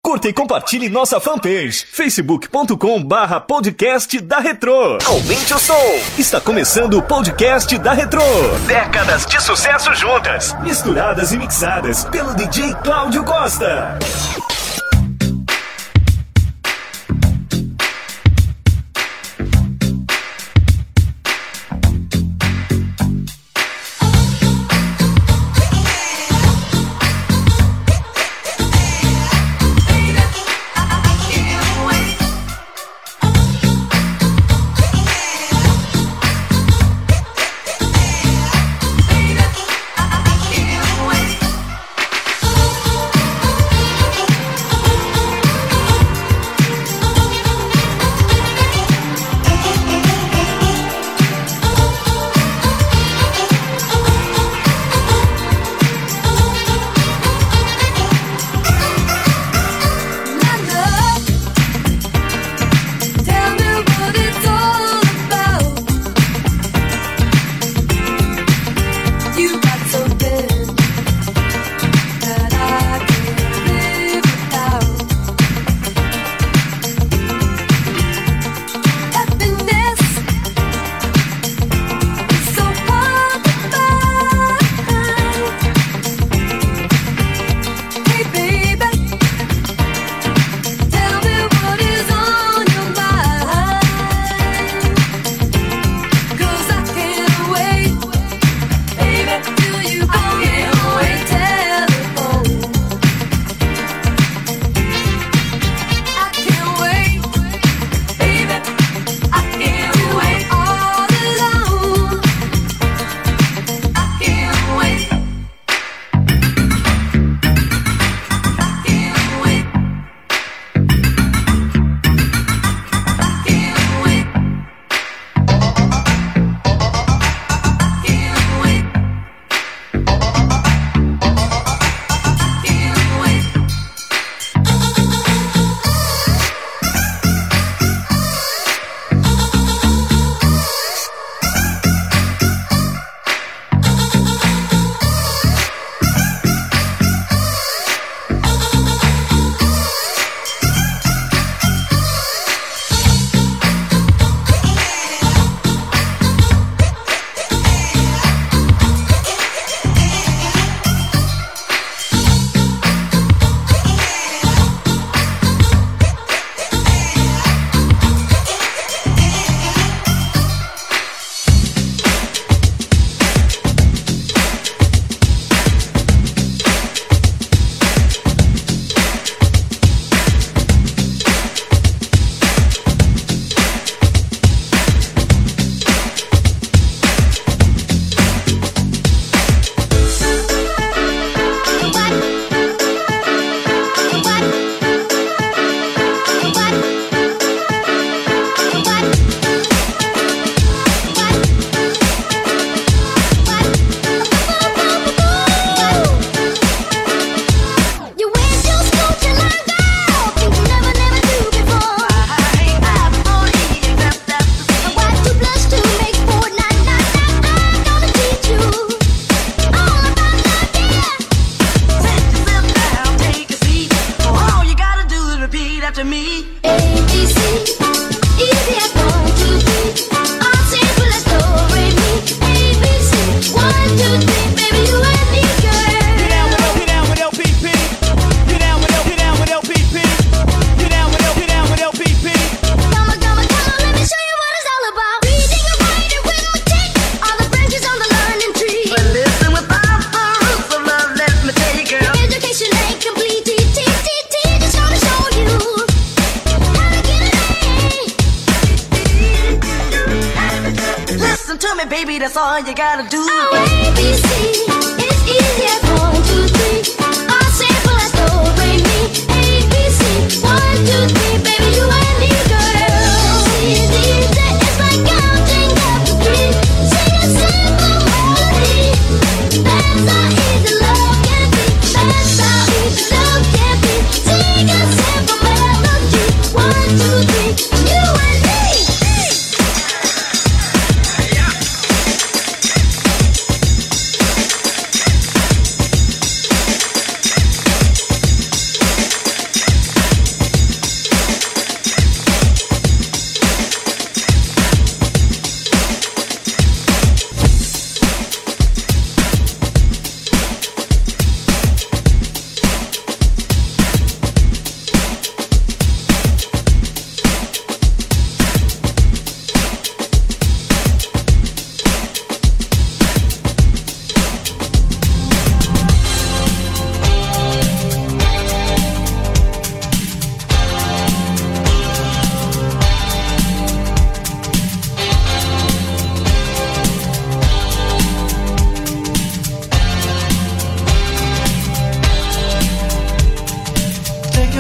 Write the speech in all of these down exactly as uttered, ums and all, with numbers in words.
Curta e compartilhe nossa fanpage, facebook ponto com barra podcast da Retrô. Aumente o som. Está começando o podcast da Retrô. Décadas de sucesso juntas, misturadas e mixadas pelo D J Cláudio Costa.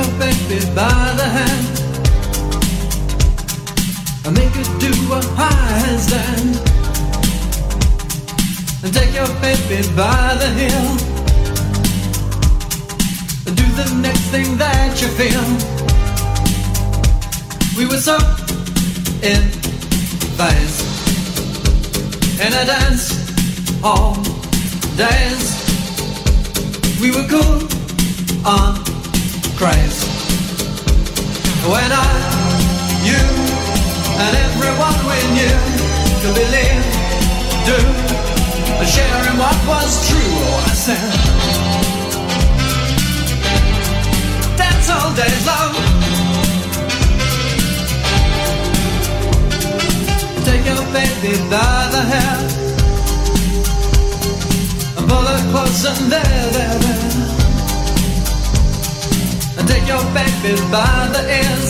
your baby by the hand and make her do a handstand, and take your baby by the heel and do the next thing that you feel. We were so in phase in a dance all days. We were cool on craze when I, you, and everyone we knew could believe, do, and share in what was true. Oh, I said, dance all days long. Take your baby by the hair and pull her close and there, there, there. And take your baby by the ears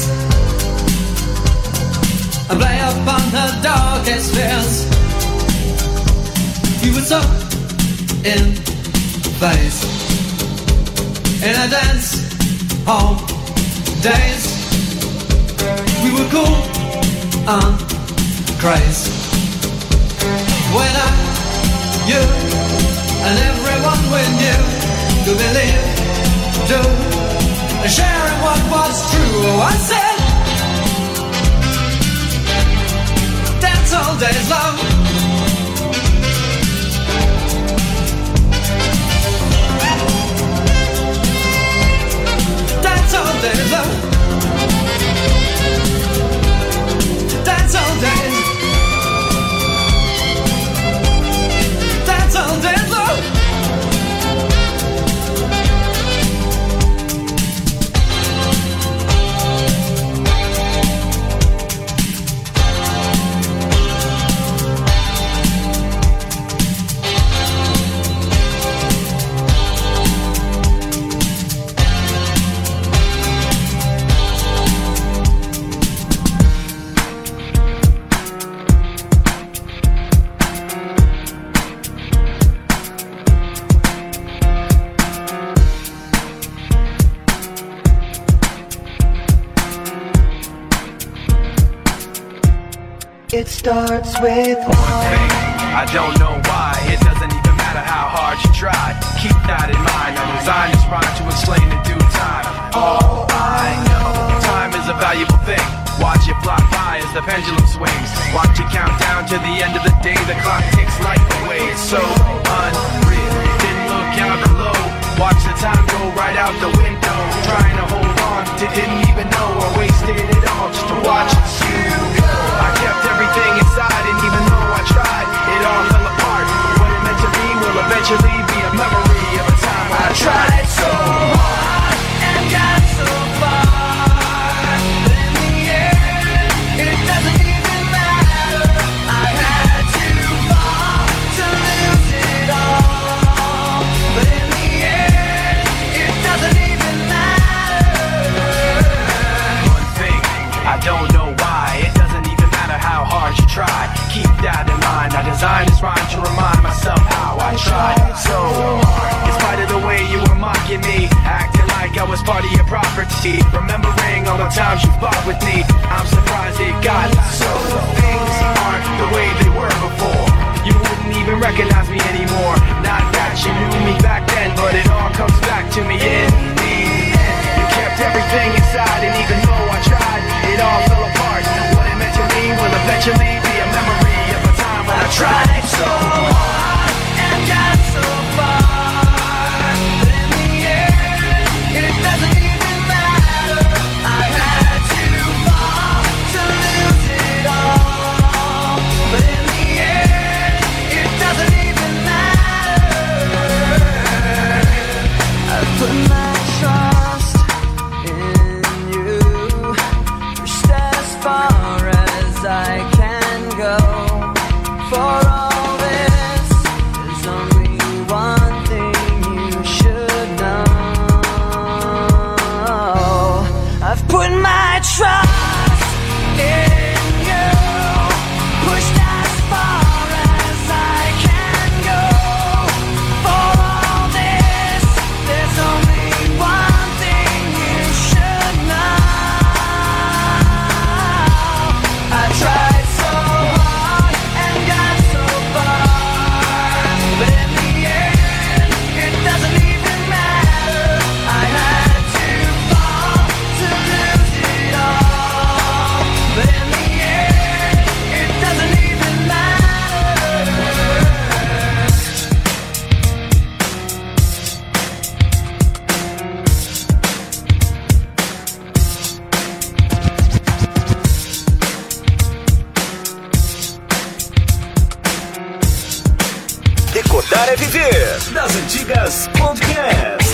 and play upon her darkest fears. We were so in phase in a dance hall days. We were cool and crazy when I, you, and everyone we knew could believe, do, and sharing what was true. Oh, I said, dance all days long. Dance all days long. Dance all days. Dance all days long. It starts with one thing. I don't know why. It doesn't even matter how hard you try. Keep that in mind. I designed this rhyme to explain in due time. All I know, time is a valuable thing. Watch it fly by as the pendulum swings. Watch it count down to the end of the day. The clock takes life away. It's so unreal. Didn't look out below. Watch the time go right out the window. Trying to hold on, didn't even know I wasted it all just to watch you go. I kept everything inside, and even though I tried, it all fell apart. What it meant to be will eventually be a memory of a time when I tried so hard and got so far. But in the end, it doesn't even matter. I had to fall to lose it all. But in the end, it doesn't even matter. One thing, I don't know why. It doesn't even matter how hard you try. Keep that in mind. I designed this rhyme to remind myself how I tried so hard. In spite of the way you were mocking me, acting like I was part of your property, remembering all the times you fought with me, I'm surprised it got so. Things aren't the way they were before. You wouldn't even recognize me anymore. Not that you knew me back then, but it all comes back to me in the end. You kept everything inside, and even though I tried, it all fell apart. What it meant to me will eventually be a memory of a time when I tried so hard and got so far. But in the end, it doesn't even matter. I had to fall to lose it all. But in the end, it doesn't even matter. I put my Tocar é Viver, das antigas Podcast.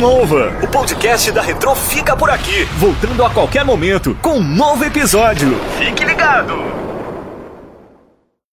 Nova. O podcast da Retrô fica por aqui, voltando a qualquer momento com um novo episódio. Fique ligado!